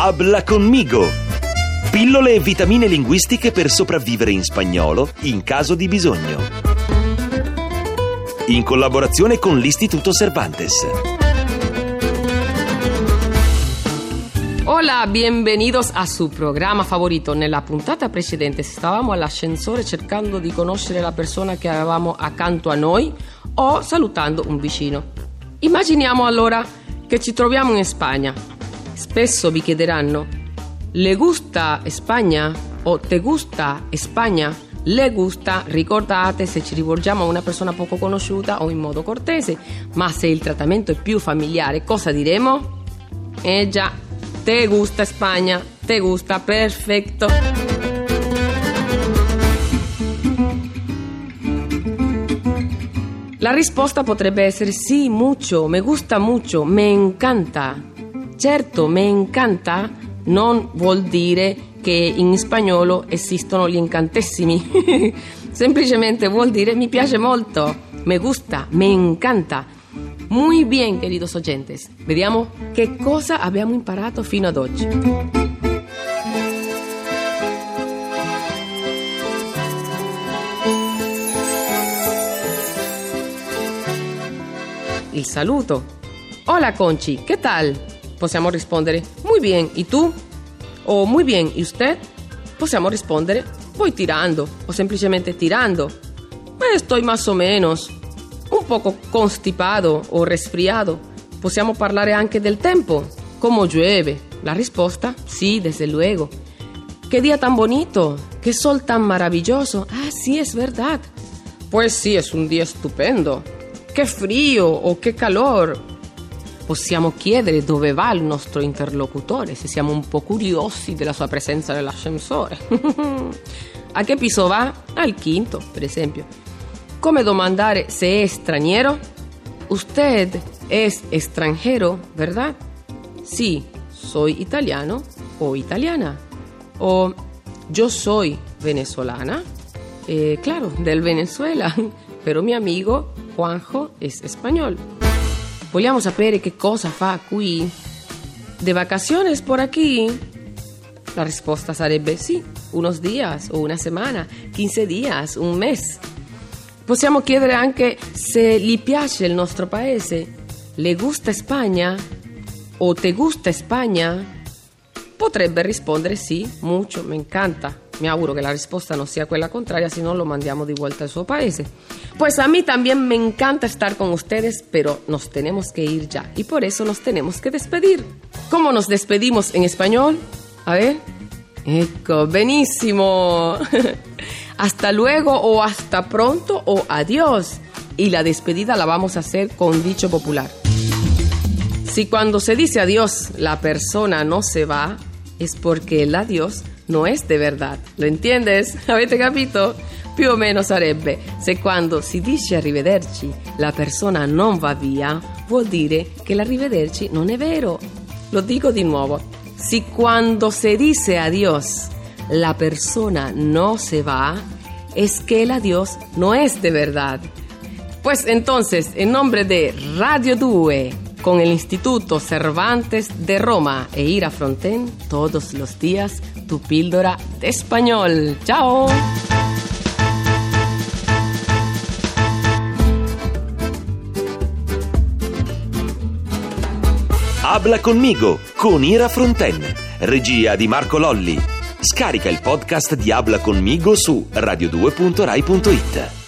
Habla conmigo! Pillole e vitamine linguistiche per sopravvivere in spagnolo in caso di bisogno. In collaborazione con l'Istituto Cervantes. Hola, bienvenidos a su programa favorito. Nella puntata precedente stavamo all'ascensore cercando di conoscere la persona che avevamo accanto a noi o salutando un vicino. Immaginiamo allora che ci troviamo in Spagna. Spesso vi chiederanno: ¿le gusta Spagna? O ¿te gusta Spagna? Le gusta, ricordate, se ci rivolgiamo a una persona poco conosciuta o in modo cortese, ma se il trattamento è più familiare, cosa diremo? Già, te gusta Spagna, te gusta, perfetto. La risposta potrebbe essere sì, mucho, me gusta mucho, me encanta. Certo, me encanta non vuol dire che in spagnolo esistono gli incantesimi. Semplicemente vuol dire mi piace molto, me gusta, me encanta. Muy bien, queridos oyentes. Vediamo che cosa abbiamo imparato fino ad oggi. Il saluto. Hola, Conchi, ¿qué tal? Possiamo rispondere muy bien, ¿y tú? O muy bien, ¿y usted? Possiamo rispondere voy tirando o semplicemente tirando. Estoy más o menos. Un poco constipado o resfriado. Possiamo parlare anche del tempo. ¿Cómo llueve? La risposta, sí, desde luego. ¿Qué día tan bonito? ¿Qué sol tan maravilloso? Ah, sí, es verdad. Pues sí, es un día stupendo. Che frio o che calor. Possiamo chiedere dove va il nostro interlocutore se siamo un po' curiosi della sua presenza nell'ascensore. A che piso va? Al quinto, per esempio. Come domandare se è straniero? Usted es extranjero, ¿verdad? Sí, soy italiano o italiana. O yo soy venezolana. Claro, del Venezuela. Pero mi amigo Juanjo es español. Vogliamo sapere che cosa fa qui? ¿De vacaciones por aquí? La risposta sarebbe sì, unos días o una semana, 15 días, un mes. Possiamo chiedere anche se gli piace il nostro paese. ¿Le gusta Spagna? O ¿te gusta Spagna? Potrebbe rispondere sì, mucho, me encanta. Mi auguro que la respuesta no sea quella contraria, si no lo mandamos de vuelta al su paese. Pues a mí también me encanta estar con ustedes, pero nos tenemos que ir ya y por eso nos tenemos que despedir. ¿Cómo nos despedimos en español? A ver. Ecco, benissimo. Hasta luego o hasta pronto o adiós. Y la despedida la vamos a hacer con dicho popular. Si cuando se dice adiós la persona no se va, es porque el adiós no è de verdad. Lo entiendes? Avete capito? Più o meno sarebbe: se quando si dice arrivederci la persona non va via, vuol dire che l'arrivederci non è vero. Lo dico di nuovo: si cuando se dice adiós la persona no se va, es que el adiós no es de verdad. Pues entonces, en nombre de Radio 2 con el Instituto Cervantes de Roma e Ira Fronten, todos los días tu píldora de español. ¡Chao! Habla conmigo con Ira Fronten, regia di Marco Lolli. Scarica il podcast di Habla conmigo su radio2.rai.it.